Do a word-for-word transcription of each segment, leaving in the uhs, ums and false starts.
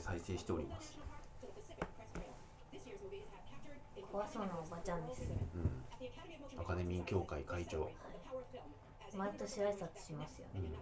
再生しております。 怖そうなおばちゃんです。 うん、アカデミー協会会長、はい、 毎年挨拶しますよね、うん、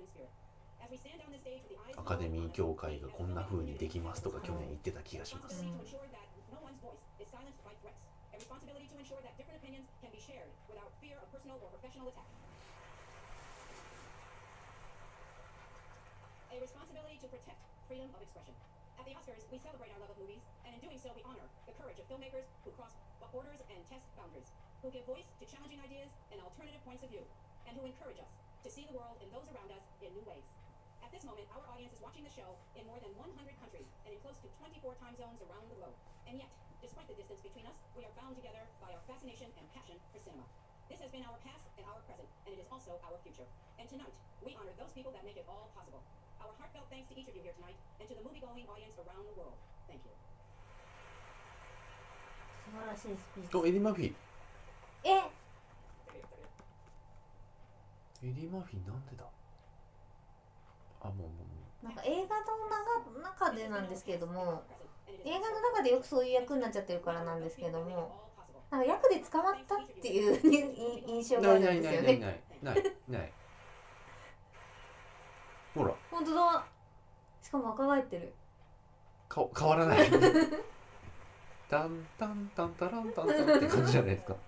アカデミー協会がこんな風にできますとか去年言ってた気がします、うん、At the Oscars, we celebrate our love of movies, and in doing so, we honor the courage of filmmakers who cross borders and test boundaries, who give voice to challenging ideas and alternative points of view, and who encourage us to see the world and those around us in new ways. At this moment, our audience is watching the show in more than one hundred countries and in close to twenty-four time zones around the globe. And yet, despite the distance between us, we are bound together by our fascination and passion for cinema. This has been our past and our present, and it is also our future. And tonight, we honor those people that make it all possible.Our heartfelt thanks to each of you here tonight, and to the movie-going audience around the world. Thank you. 素晴らしいスピーチ。 お、エディ・マフィー。 え？ エディ・マフィーなんでだ？あ、もうもう。 なんか映画の中でなんですけれども、映画の中でよくそういう役になっちゃってるからなんですけども、なんか役で捕まったっていう印象があるんですよね。 ないないないないないない。ほら本当だ。しかも若返ってる。 か変わらないタンタンタンタランタンタンって感じじゃないですか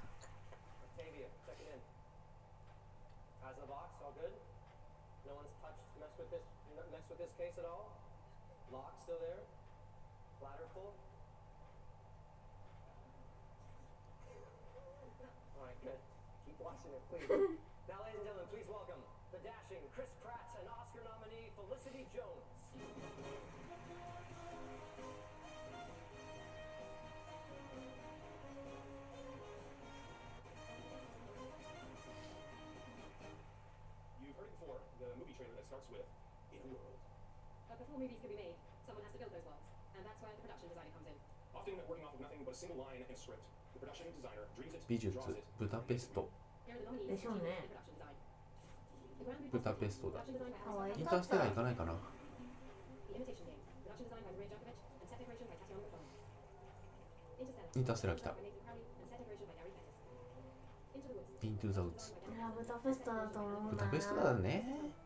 Before movies can be made, someone has to build those worlds, and that's where the production designer comes in. Often working off of nothing but a single line and a script, the production designer dreams it, 美術 draws it. ブダペストでしょうね。 ブダペストだ。インインターステラー行かないかな。インターステラー来た。イントゥザウッズ。 いや、ブダペストだと思うな。 ブダペストだね。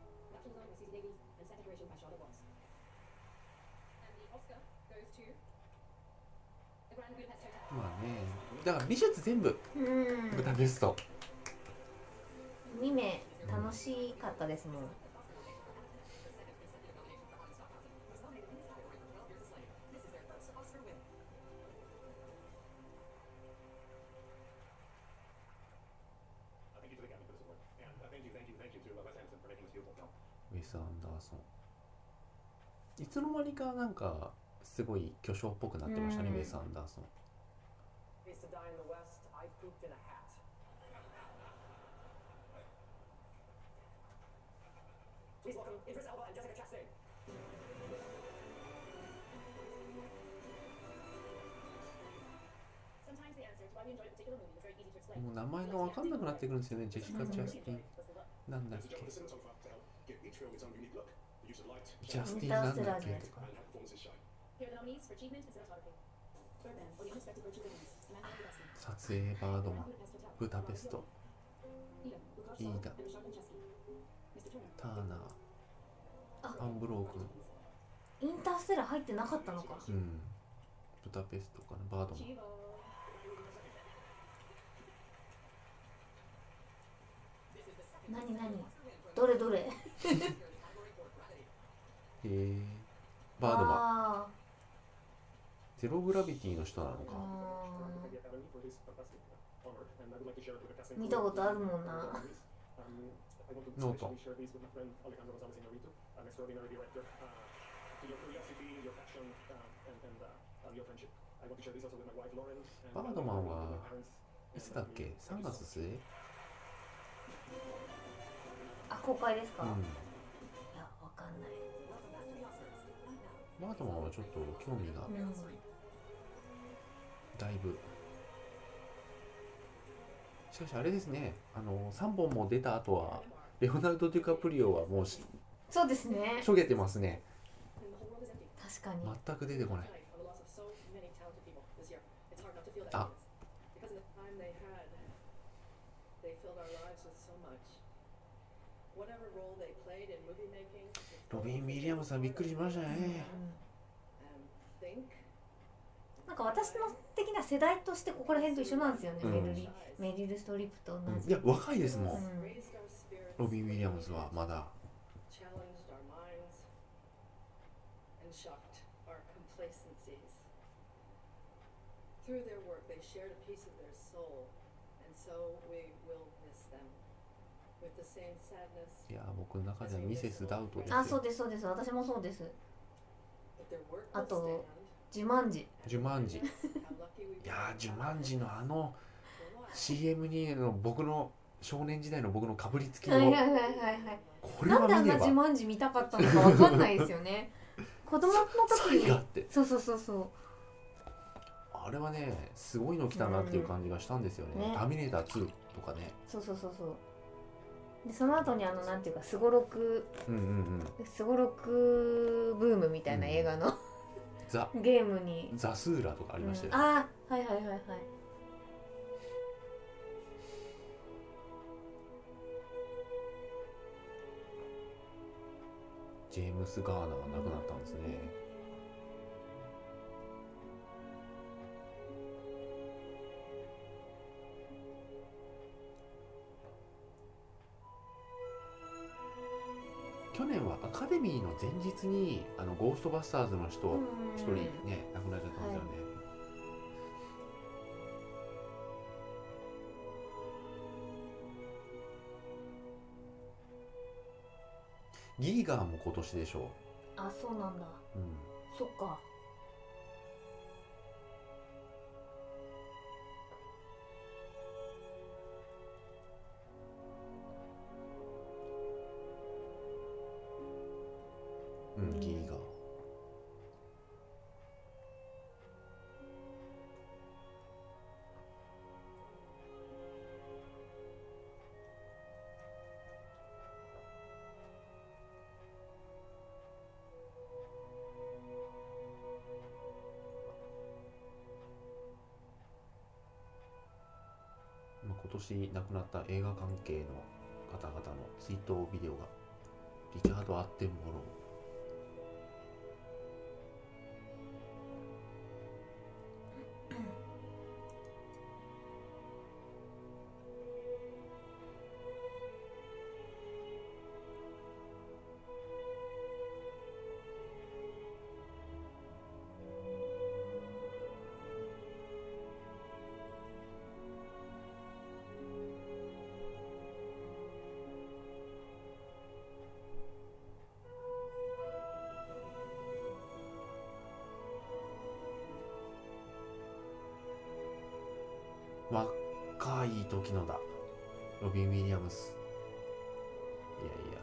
まあね、だから美術全部、うん、ブダペスト。 見目楽しかったですもん。 ウェス・アンダーソン。いつの間にかなんかすごい巨匠っぽくなってましたね、ウェス・アンダーソン。もう名前が分かんなくなってくるんですよね、ジェシカ・ジャスティン。なんだっけジャスティンなんだっけとか。撮影バードマン、ブダペスト、イーダ、ターナー、アンブロー君。インターステラー入ってなかったのか。 うん。ブダペストかな、バードマン。 何何どれどれへえバードマンゼログラビティの人なのか。 見たことあるもんな。 ノートバードマンはいつだっけ、さんがつ末。 あ、公開ですか。うん、いや、わかんない。 バードマンはちょっと興味が、うん、だいぶ。しかしあれですね、あのさんぼんも出た後はレオナルド・デュカプリオはもうそうですね、 しょげてますね。 確かに。 全く出てこない。 Tonight, on the loss of so many talented people this year, it's hard not to feel that Ah. heaviness. Because in the time they had, they filled our lives with so much. Whatever role they played in movie making, ロビン・ウィリアムズさんびっくりしましたね。 and think なんか私の的な世代としてここら辺と一緒なんですよね、 うんメルリメリル・ストリップと同じ。 いや若いですもん、 うん raised our spirits, ロビン・ウィリアムズはまだ。 challenged our minds, and shocked our complacencies. Through their work, they shared a piece of their soul, and so we will miss them. With the same sadness, いや僕の中ではミセス・ダウトですあ、そうよ。 ですそうです、私もそうです。 but their work あ will と stand. ジュマンジ。 ジュマンジ。 How lucky we いやージュマンジのあの will watch. シーエム にの僕の少年時代の僕のかぶりつきのはいはいはいはいはい。 これなんであは見ればんなジュマンジ見たかったのかわかんないですよね。子供の時に。 才があって、 そうそうそうそう。 あれはねすごいの来たなっていう感じがしたんですよね。 うんねターミネーターツーとかね。 そうそうそうそう。でその後にあのなんていうかすごろくうんうんうん。 すごろくブームみたいな映画の、 ザゲームにザスーラとかありましたよね。 うん、ああはいはいはいはい。 ジェームス・ガーナーが亡くなったんですね。去年はアカデミーの前日にあのゴーストバスターズの人うん一人ね亡くなっちゃったんですよね。ギーガーも今年でしょあ、そうなんだ。 う。うん。 そっか。 うん、ギーガー。まあ今年亡くなった映画関係の方々の追悼ビデオがリチャード・アッテンボロー。若い時のだロビン・ウィリアムス。いやいや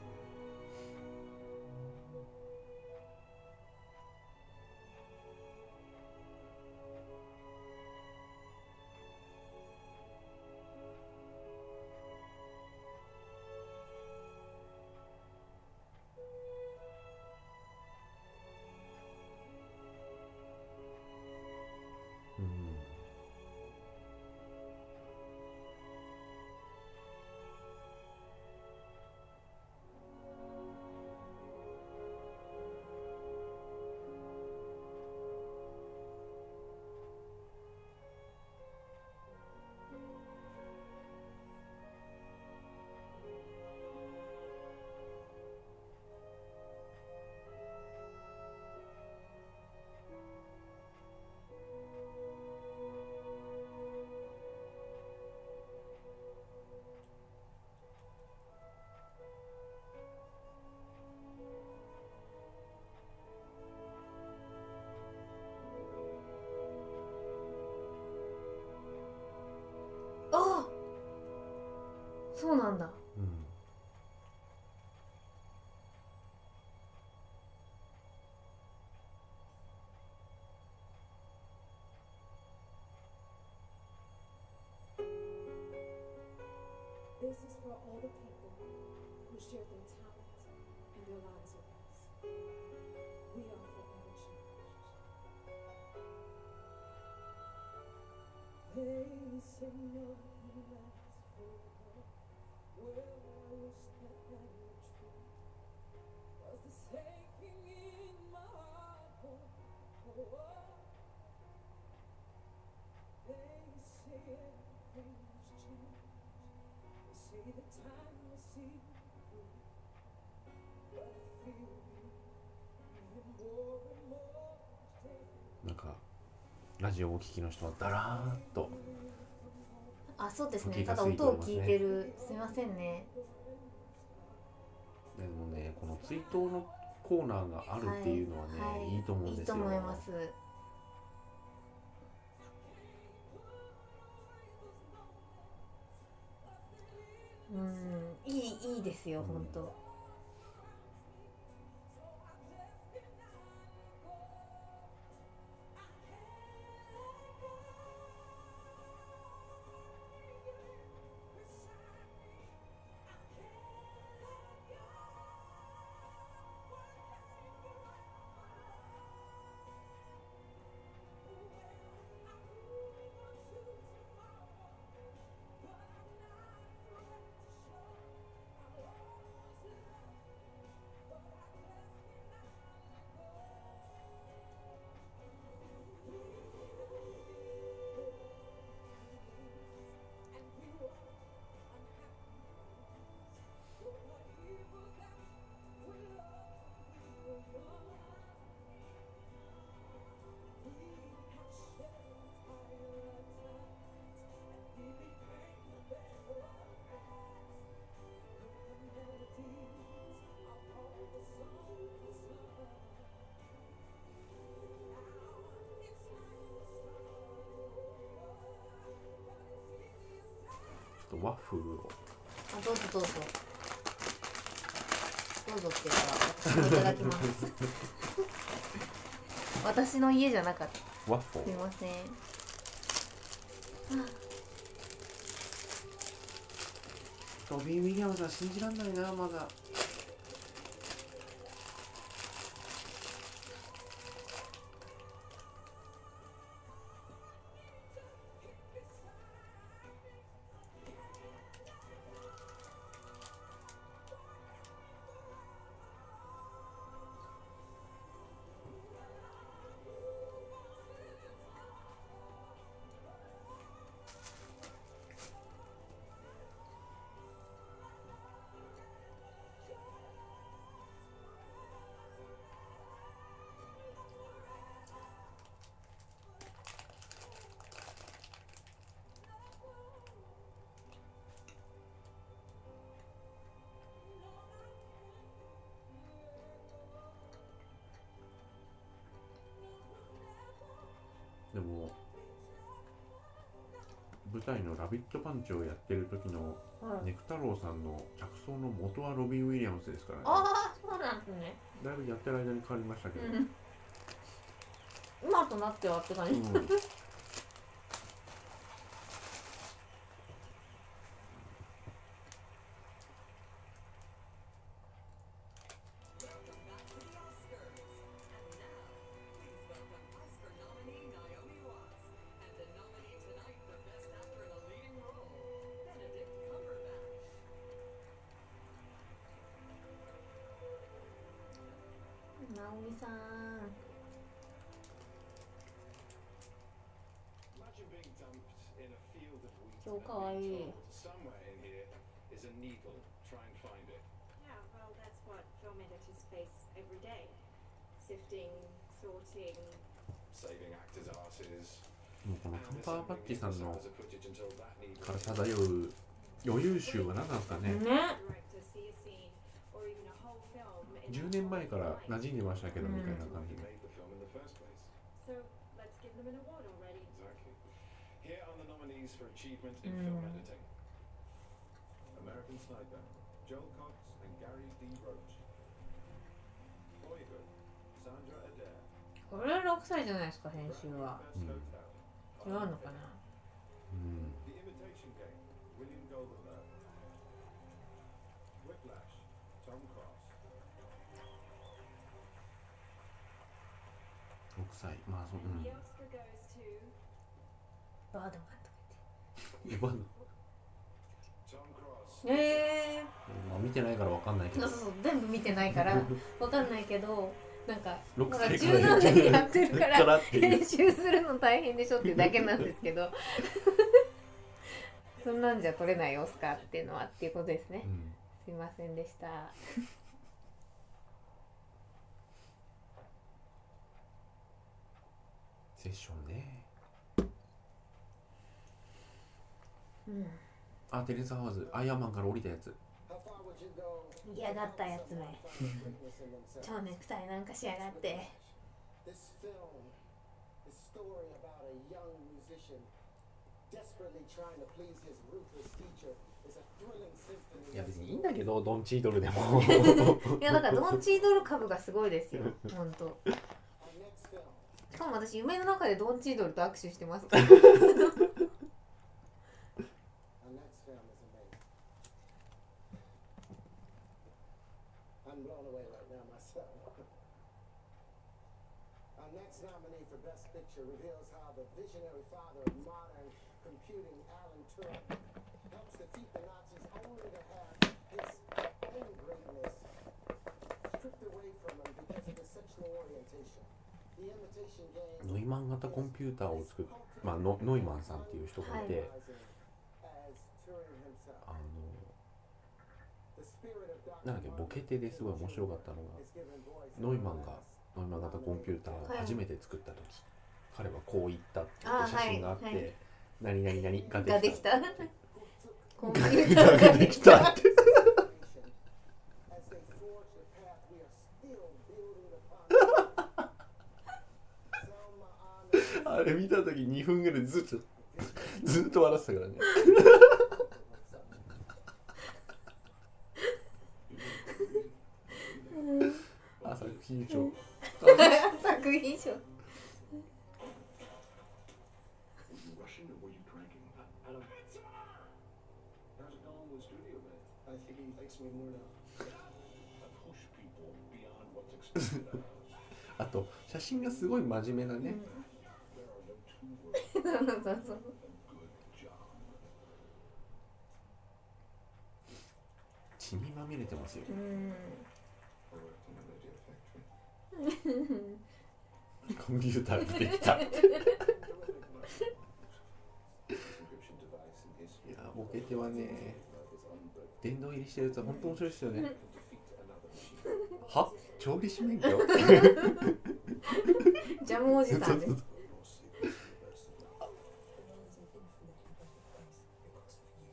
うんああ、そうなんだ。 うん This is for all the people who shared their talent and their lives with us. We are forever なんかラジオをお聞きの人はだらーっとあ、そうですね。 気がただついておりますね音を聞いてる。すみませんね。 でもね、この追悼のコーナーがあるっていうのはね、 はいい、いと思うんですよ。 いいと思います。うん、いいいいですよ、 うん本当。 ちょっとワッフルをあ、どうぞどうぞ。どうぞっていうか、私もいただきます。私の家じゃなかった。 ワッフルすいません。 ロビン・ウィリアムズは信じらんないな、まだ。でも舞台の「ラビットパンチ」をやってる時のはい、 ネク太郎さんの着想の元はロビン・ウィリアムズですからね。 ああ、そうなんですね。 だいぶやってる間に変わりましたけど、 うん、今となってはって感じ。 うん、 ナオミさん。 Imagine being dumped in a field of wheat 超 and かわい being い。 told somewhere in here is a needle. Try and find it. Yeah, well, that's what film editors face every day. Sifting, sorting. Saving actors' asses. もうこの and カンパーバッ assembling チさんの episodes of footage until that needle から is 漂う余裕集は何なんですかね。 ね。 Director see a scene or even a whole film in じゅうねんまえから馴染んでましたけど、 うんみたいな感じ who で。 made the film in the first place. So let's give them an award already. Exactly. Here are the nominees for achievement in Mm. film editing. American Sniper, Joel Cox and Gary D. Roach. Boyhood, Sandra Adair. これはろくさいじゃないですか、編集は。 Bradley Best Hotel, 違うのかな。 うん、 The Imitation Game, William Goldenberg. Whiplash, Tom Cross. ろくさい、まあそう、う And ん the Oscar goes to バードマンとか言って。 今の、 Tom Cross. えまあ、見てないからわかんないけー、 どそうそうそう全部見てないからわかんないけど、なんかろくまださいから柔軟でやってるからからっていう編集するの大変でしょっていうだけなんですけどそんなんじゃ取れないオスカーっていうのはっていうことですね。 うんすいませんでした。 セッションね。 うんあ、テレサ・ハワーズ、アイアンマンから降りたやつ。 嫌がったやつめ超ネクタイなんかしやがって。 This film is story about a young musician desperately trying to please his ruthless teacher. It's a thrilling symphony. いや別にいいんだけど、ドンチードルでもいやだからドンチードル株がすごいですよ本当。 Our next film. しかも私夢の中でドンチードルと握手してます。 Our next film is amazing. I'm blown away right now myself. Our next nominee for Best Picture reveals how the visionary father of modern computing, Alan Turing, helps defeat the Nazis only to have his own greatness stripped away from him because of his sexual orientation. The Imitation Game. ノイマン型コンピューターを作っまあノノイマンさんっていう人がいて、 As Turing himself. あの The spirit of なんだっけ、ボケてですごい面白かったのが、 is given voice. ノイマンがノイマン型コンピューターを初めて作った時、彼はこう言ったって言って写真があって、 あはいはい何々々がができた。コンピュータがーができできたた。 って As they forge the path we are still building upon. Selma Ahmed. あれ見た時にふんぐらいずっとずっと笑ってたからね。あ、作品賞。 作品賞。 Were you rushing or were you drinking? I don't. How's it going with studio, man? I think he likes me more now. I push people beyond what's expected of us. あと写真がすごい真面目なね。 There are no two words そうそうそう。 a good job. 血にまみれてますよ。 うん。 I worked in a radio factory. コンピューターができた。い Encryption device in history. やボケてはね、 Love is unbreakable. 殿堂入りしてるやつは本当面白いですよね。 To defeat another machine. は？調理師免許？ ジャムおじさんです。 Your secret universe of love. The world is an infinitely better place because of you.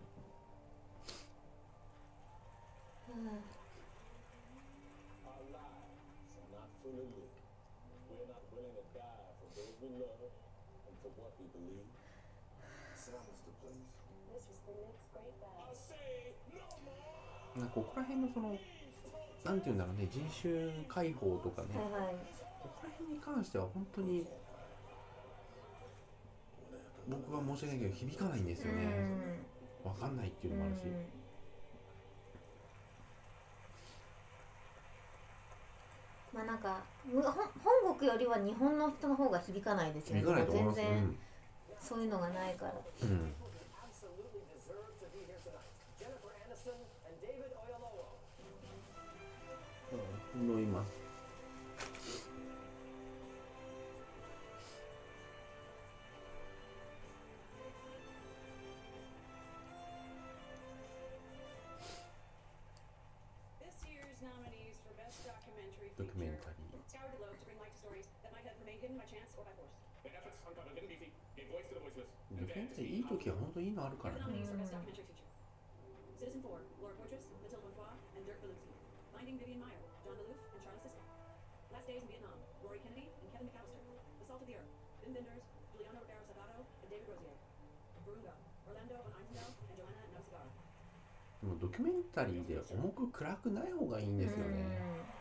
Our lives are not fully lived. We're not willing to die for those we love and for what we believe. Silence the place. This was the next great battle. I say no more! なんかここら辺のそのなんていうんだろうね、人種解放とかね、 はいはい。 ここら辺に関しては本当に僕は申し訳ないけど響かないんですよね。わかんないっていうのもあるし。 まあなんかむ本本国よりは日本の人の方が響かないですよね。 響かないと思います。 全然そういうのがないから。 うん。うん Absolutely deserve to be here tonight. Jennifer Aniston and David Oyelowo. 飲みます。 This year's nominees for Best Documentary ドキュメン Feature タリー。 scoured the globe to bring light to stories that might have remained hidden by chance or by force. The efforts uncovered hidden beauty, gave voice to the voiceless. ドキュメンタリーいい時は本当にいいのあるからね。 The nominees for Best Documentary Feature: Citizen Four, Laura Poitras, Mathilde Bonfoy, and Dirk Berlinski. Finding Vivian Maier, John Maloof, and Charlie Sisko. Last Days in Vietnam, Rory Kennedy and Kevin McAllister. The Salt of the Earth, Wim Wenders, Juliana Rivera Salgado, and David Rosier. Virunga, Orlando von Einsendal, and Joanna Nausagara. でもドキュメンタリーで重く暗くない方がいいんですよね。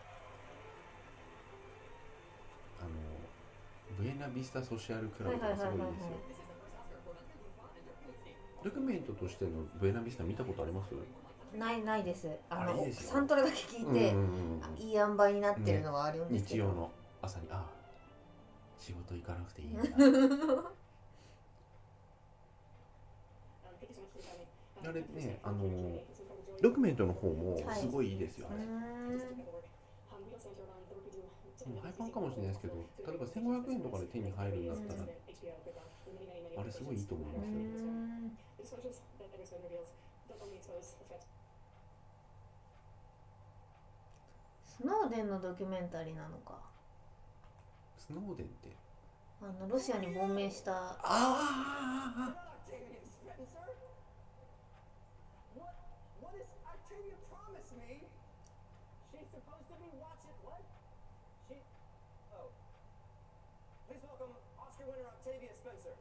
あのブエナビスタソシャルクラブとかすごいですよ。 This is the first Oscar for Virunga Bonfoy and Dirk Berlinski. ドキュメントとしてのブエナビスタ見たことあります？ ないないです。あのあれいいですよサントラだけ聞いて、 うんうんうんいい塩梅になってるのはあるんですけど。 日曜の朝に、ああ仕事行かなくていいんだ。 あれね、あのドキュメントの方もすごいいいですよ、 うあれ。 ーんうん、ハイパンかもしれないですけど、例えばせんごひゃくえんとかで手に入るんだったら、あれすごいいいと思いますよ。 うーんスノーデンのドキュメンタリーなのか。 スノーデンってあのロシアに亡命した。 あ Octavia Spencer? What, what does Octavia promise me? She's supposed to be watching, what? She, oh. Please welcome Oscar winner Octavia Spencer.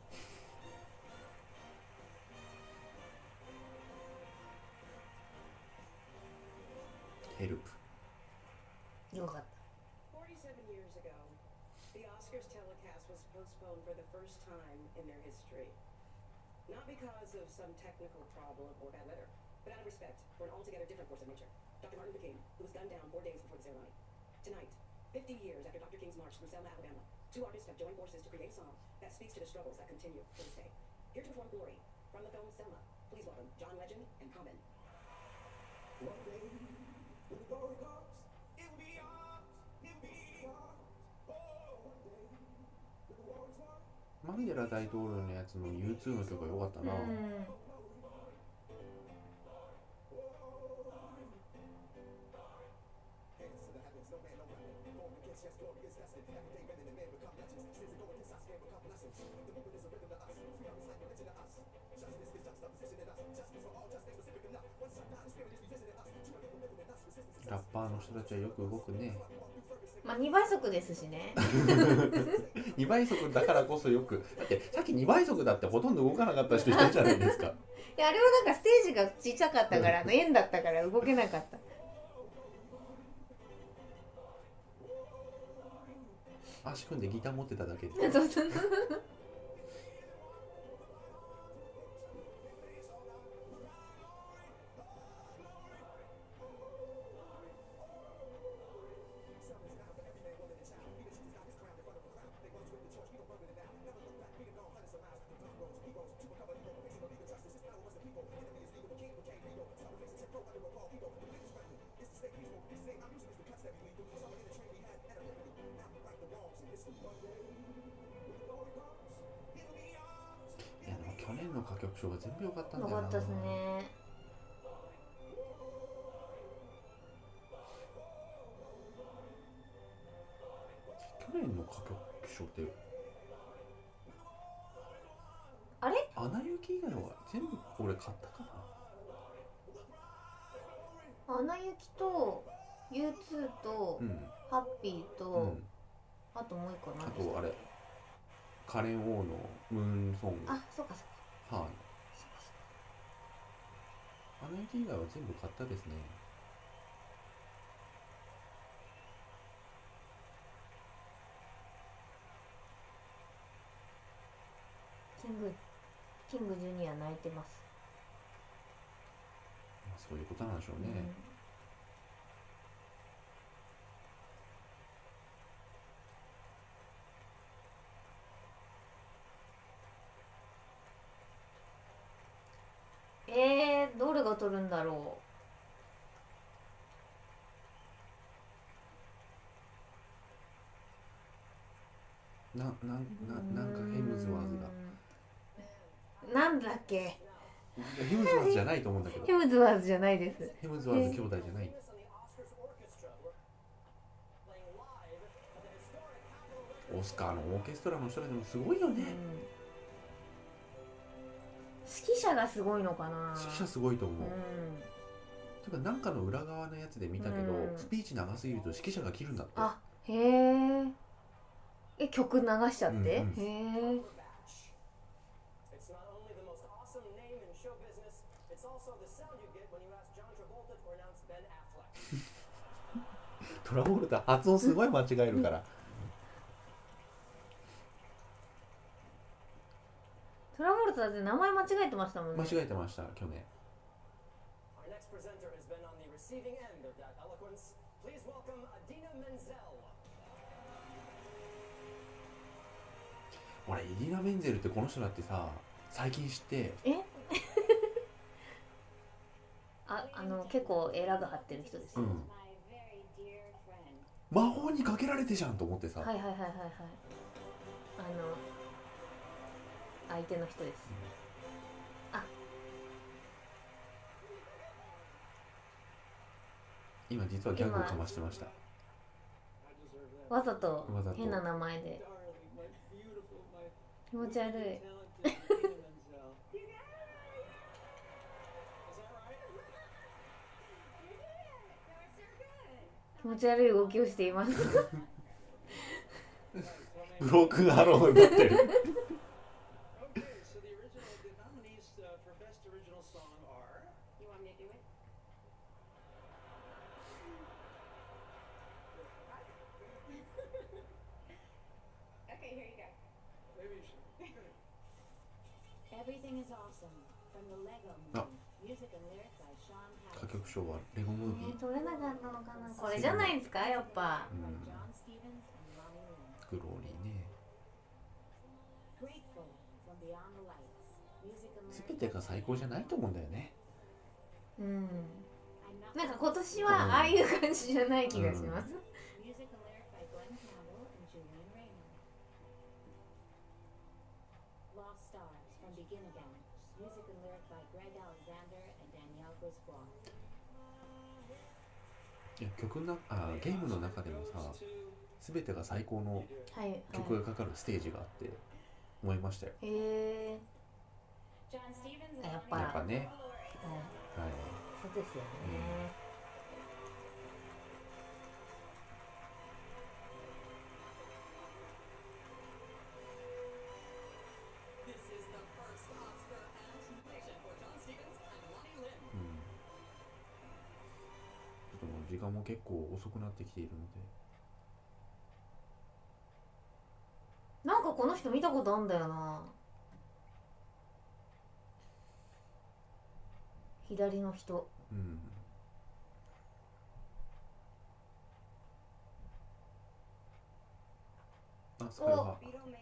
ヘルプ。 よかった。 forty-seven years ago, the Oscars telecast was postponed for the first time in their history. Not because of some technical problem or bad weather, but out of respect for an altogether different force of nature, Doctor Martin Luther King, who was gunned down four days before the ceremony. Tonight, fifty years after Doctor King's march through Selma, Alabama, two artists have joined forces to create a song that speaks to the struggles that continue to this day. Here to perform Glory from the film Selma, please welcome John Legend and Common. One day, when the glory comes, it'll be ours, it'll be ours. Oh, one day, when the war is won. マンデラ大統領のやつの ユーツー の曲が良かったな。 うん。 Hands to the heavens, no man, no weapon. Born against, yes, glorious destiny. Every day, men and men become legends. Sins that go against us, can become blessings. The movement is a rhythm to us. Freedom is like religion to us. Justice is juxtaposition in us. Justice for all, justice specific enough. One shot down, the spirit is revisiting us. Two people living in us. Resistance is ラッパーの人たちはよく動くね。 まあにばい速ですしね。 にばい速だからこそよく。だってさっきにばい速だってほとんど動かなかった人いたじゃないですか。 いやあれはなんかステージがちっちゃかったからあの円だったから動けなかった。 足組んでギター持ってただけで。 そうそういやでも去年の歌曲賞が全部良かったんだよな。 よかったですね。 去年の歌曲賞ってあれ？ アナ雪以外は全部俺買ったかな。 アナ雪と ユーツー と、 うん、 ハッピーと、 うん、 あともう一個あ何でしたっけ？ とあれカレン・オーのムーンソング、 あ、そうかそうか。 はい、アナ雪以外は全部買ったですね。 キングキングジュニア泣いてます。 まあそういうことなんでしょうね。 うん、えー、どれが取るんだろな、な、な、なんかヘムズワーズが。 う。なんだっけ？ ヘムズワーズじゃないと思うんだけど。 ヘムズワーズじゃないです。 ヘムズワーズ兄弟じゃない。オスカーのオーケストラの人たちもすごいよね。 うん、指揮者がすごいのかな。 指揮者すごいと思う。 うん、 というかなんかの裏側のやつで見たけど、 うん、 スピーチ長すぎると指揮者が切るんだって。 あ、へえ。え、曲流しちゃって、 うんうん、 へえ。 トラボルタ発音すごい間違えるから。 トラボルタって名前間違えてましたもんね。 間違えてました去年。俺イディナ・メンゼルってこの人だってさ最近知って、 えあの結構エラが張ってる人ですよ、 うん魔法にかけられてじゃんと思ってさ、 はいはいはいはいはい、あの相手の人です。あ、 今実はギャグをかましてました。 わざとわざと変な名前で気持ち悪い気持ち悪い動きをしていますブロークンアローになってるあ、歌曲賞はレゴムービー、 取れなかったのかな。これじゃないですかやっぱ、 うん、グローリーね。全てが最高じゃないと思うんだよね。 うん、なんか今年はああいう感じじゃない気がします、うん、 いや曲なあゲームの中でもさ、全てが最高の曲がかかるステージがあって思いましたよ。 へえー、やっぱやっぱね、はい、はい、 そうですよね、 うん、時間も結構遅くなってきているので、 なんかこの人見たことあんだよな。左の人、 うん、あ、それは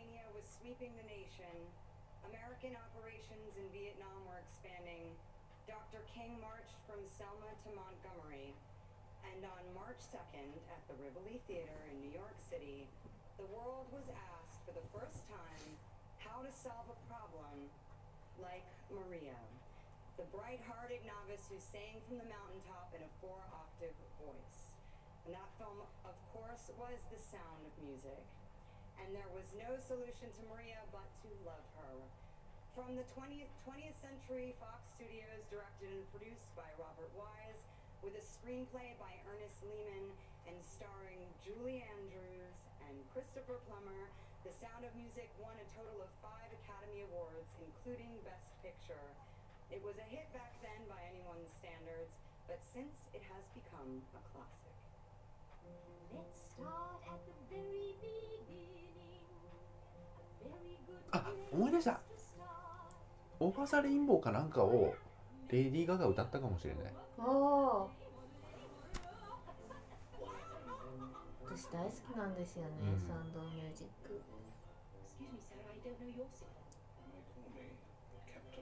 Doctor King marched from Selma to Montgomery, and on March second at the Rivoli Theater in New York City, the world was asked for the first time how to solve a problem like Maria, the bright-hearted novice who sang from the mountaintop in a four-octave voice. And that film, of course, was The Sound of Music. And there was no solution to Maria but to love her. From the twentieth, twentieth Century Fox Studios, directed and produced by Robert Wise, with a screenplay by Ernest Lehman and starring Julie Andrews and Christopher Plummer, The Sound of Music won a total of five Academy Awards, including Best Picture. It was a hit back then by anyone's standards, but since it has become a classic. Let's start at the very beginning. A very good あ、思い出した。オーバーザレインボーかなんかをレディー・ガガ歌ったかもしれない。 ああ、私大好きなんですよね、うん、サウンドミュージック。 Excuse me, sir, I don't know your signal. They call me Captain.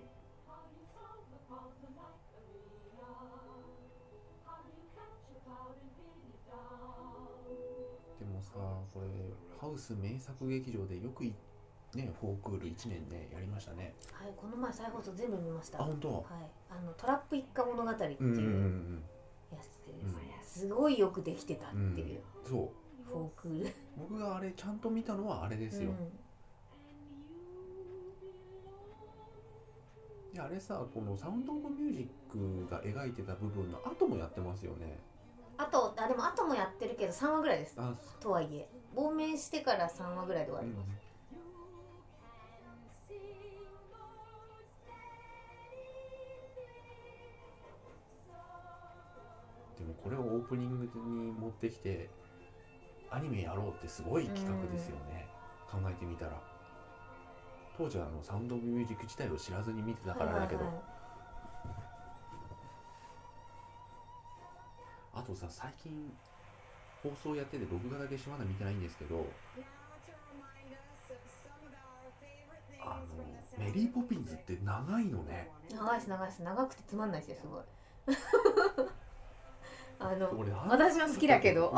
でもさ、これハウス名作劇場でよくね、フォークールいちねんねやりましたね。 はい、この前再放送全部見ました。 あ、本当。 はい、あのトラップ一家物語っていうやつでですね、 うん、 すごいよくできてたっていう、 うん、そうフォークール。 僕があれちゃんと見たのはあれですよ、うん、いやあれさ、このサウンドオブミュージックが描いてた部分の後もやってますよね。 あと、あ、でも後もやってるけどさんわぐらいです。とはいえ亡命してからさんわぐらいで終わります、うん。でもこれをオープニングに持ってきてアニメやろうってすごい企画ですよね、うん、考えてみたら。当時はあのサウンドオブミュージック自体を知らずに見てたからだけど、はいはいはい、あとさ、最近放送やってて録画だけしまだ見てないんですけど、あのメリーポピンズって長いのね。 長いです長いです。長くてつまんないですよ、すごい。 あの俺私は好きだけど、 うん、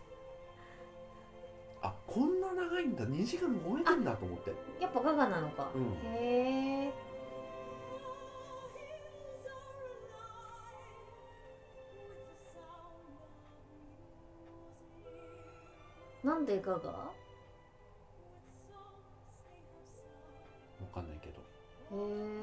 あこんな長いんだ、にじかん超えてんだと思って。 やっぱガガなのか、 うん、 へえ。なんでガガ？わかんないけど。 へえ。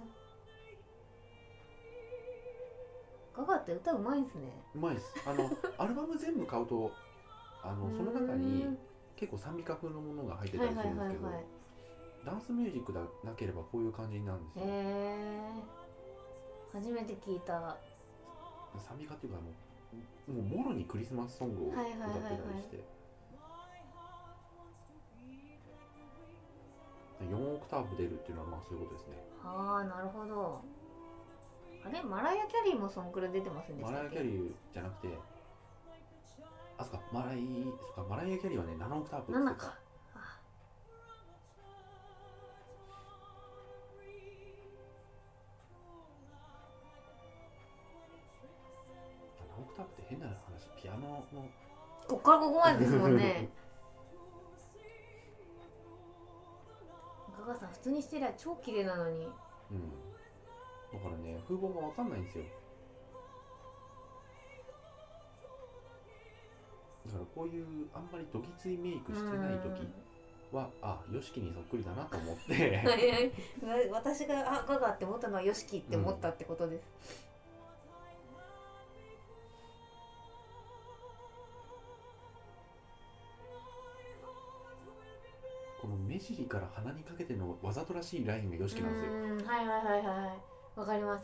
ガガって歌うまいんすね。 うまいです。あのアルバム全部買うとあのその中に結構賛美歌風のものが入ってたりするんですけど、ダンスミュージックだなければこういう感じになるんですよ。 へえ。初めて聞いた。 賛美歌っていうかもう、もうもろにクリスマスソングを歌ってたりして、はいはいはいはい、よんオクターブ出るっていうのはまあそういうことですね。 ああ、なるほど。あれマライア・キャリーもそんくらい出てませんでしたっけ？ マライア・キャリーじゃなくて、あそっかマライそっかマライア・キャリーはねななオクターブって言ってた。 ななか。 ななオクターブって変な話、ピアノのこっからここまでですもんね。ガガさん普通にしてりゃ超綺麗なのに。うん。 だからね、風貌がわかんないんですよ。だからこういうあんまりどぎついメイクしてない時は、あ、ヨシキにそっくりだなと思って私があガガって思ったのはヨシキって思ったってことです、 うん、この目尻から鼻にかけてのわざとらしいラインがヨシキなんですよ。 うん、はいはいはいはい、わかります。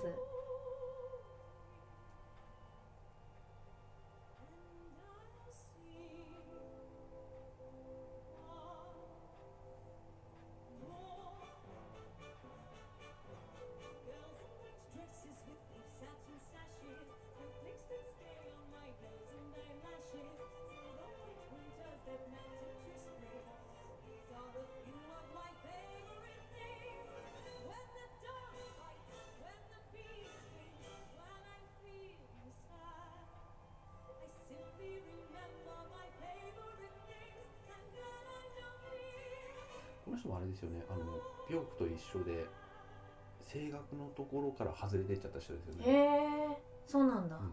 この人もあれですよね、あのピョークと一緒で声楽のところから外れてっちゃった人ですよね。 へえ、そうなんだ、うん、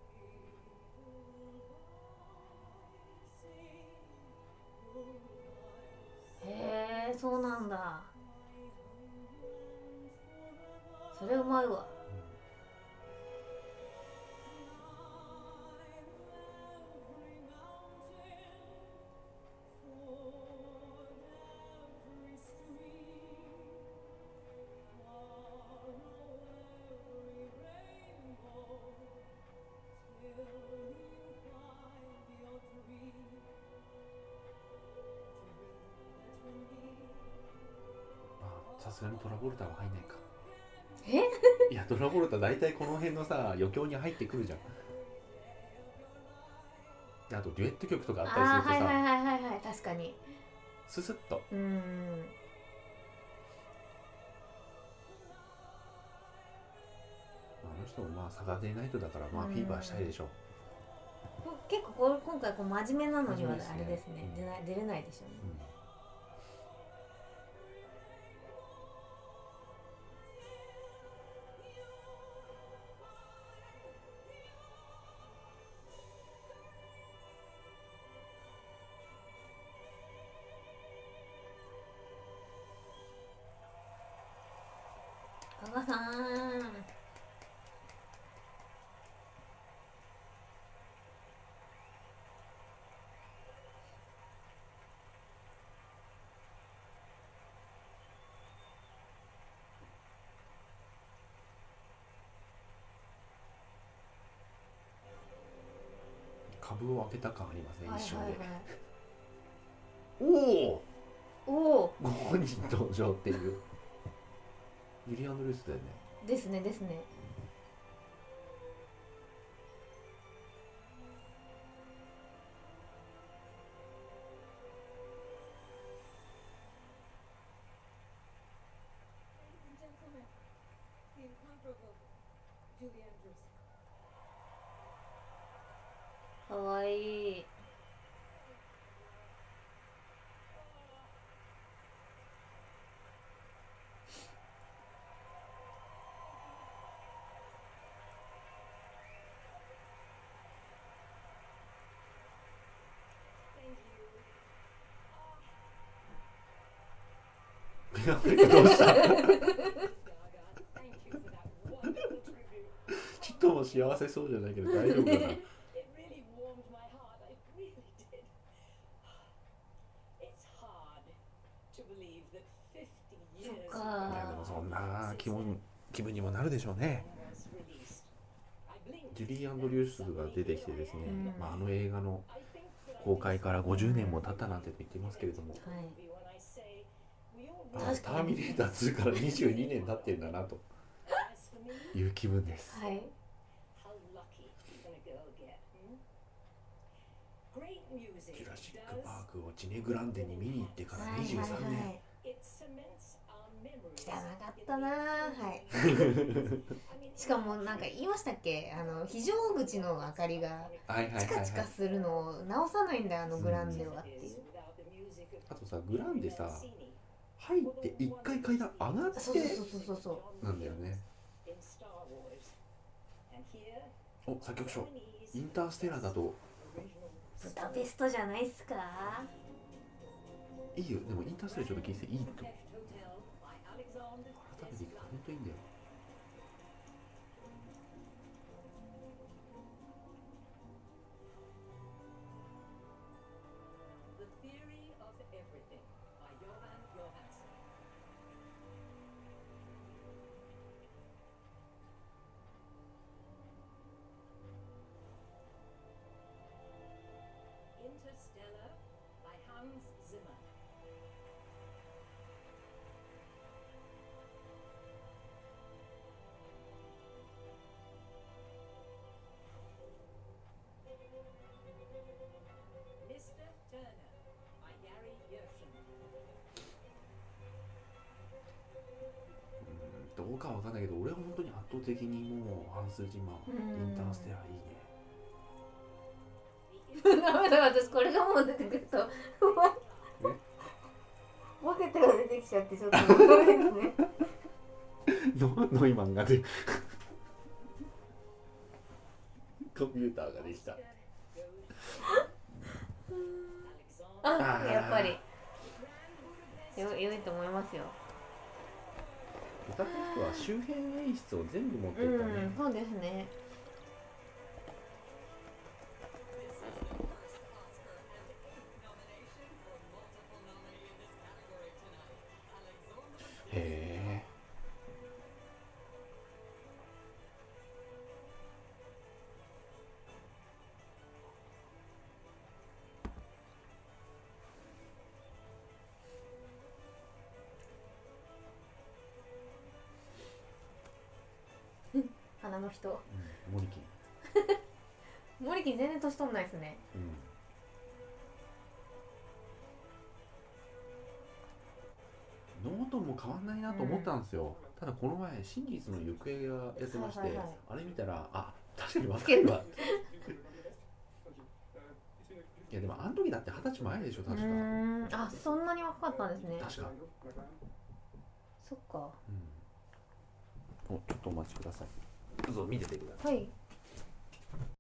へえ、そうなんだ。それうまいわ。 さすがにトラボルタは入んないか。 えいやトラボルタ大体この辺のさ余興に入ってくるじゃん。であとデュエット曲とかあったりするとさ、 はいはいはいはいはい、確かにススッと、 うーん、 あの人もまあサタデーナイトだからまあフィーバーしたいでしょう。 結構こう今回こう真面目なのにはあれですね、出ない出れないでしょうね、うん、加賀さん、 株を開けた感ありますね、一瞬で、はいはいはい、 おおご本人登場っていうユリアンドルースだよね。 ですねですね。 Ladies and gentlemen, the incomparable Julie Andrews. わいい。 どうした？ちっとも幸せそうじゃないけど大丈夫かな。 そっいか。 やでもそんな気分気分にもなるでしょうね。ジュリー・アンドリュースが出てきてですね、 うんまあ、あの映画の公開からごじゅうねんも経ったなんて言ってますけれども、 はい。 あ確かにターミネーターツーからにじゅうにねん経ってんだなという気分です。 はい。 ジュラシック・パークをチネグランデに見に行ってからはいにじゅうさんねん、 はいはい。汚かったなー。はい。しかもなんか言いましたっけ、あの非常口の明かりがはいはいはいはい、 チカチカするのを直さないんだよ、あのグランデはっていう。 あとさ、グランデさ入って一回階段上がってそうそうそうそうそうなんだよね。お、作曲賞インターステラーだとブダペストじゃないっすか。 いいよ。でもインターステラーちょっと聞いていいと改めて聞くと本当にいいんだよ。 Interstellar by Hans Zimmer. Mister Turner by Gary Gershon. うん、どうかわかんないけど俺は本当に圧倒的にもうハンス・ジマーインターステラーいいね。 ダメだ、私これがもう出てくるとボケてが出てきちゃってちょっとダメですね。 ノノイマンがでコンピューターができた。 あ、やっぱりよ良いと思いますよ。 ブダペストは周辺演出を全部持ってうったね。 ん、そうですね。 へえ。 花の人。 うん、モリキン。 モリキン全然年取んないですね。 うん。ノートンも変わんないなと思ったんですよ。うん、ただこの前真実の行方がやってまして、はいはいはい、あれ見たらあ確かに若いわ。いやでもあの時だって二十歳前でしょ確か。 うーん、あ、そんなに若かったんですね。 確か。 そっか。 うん。お、ちょっとお待ちください。どうぞ見ててください。 はい。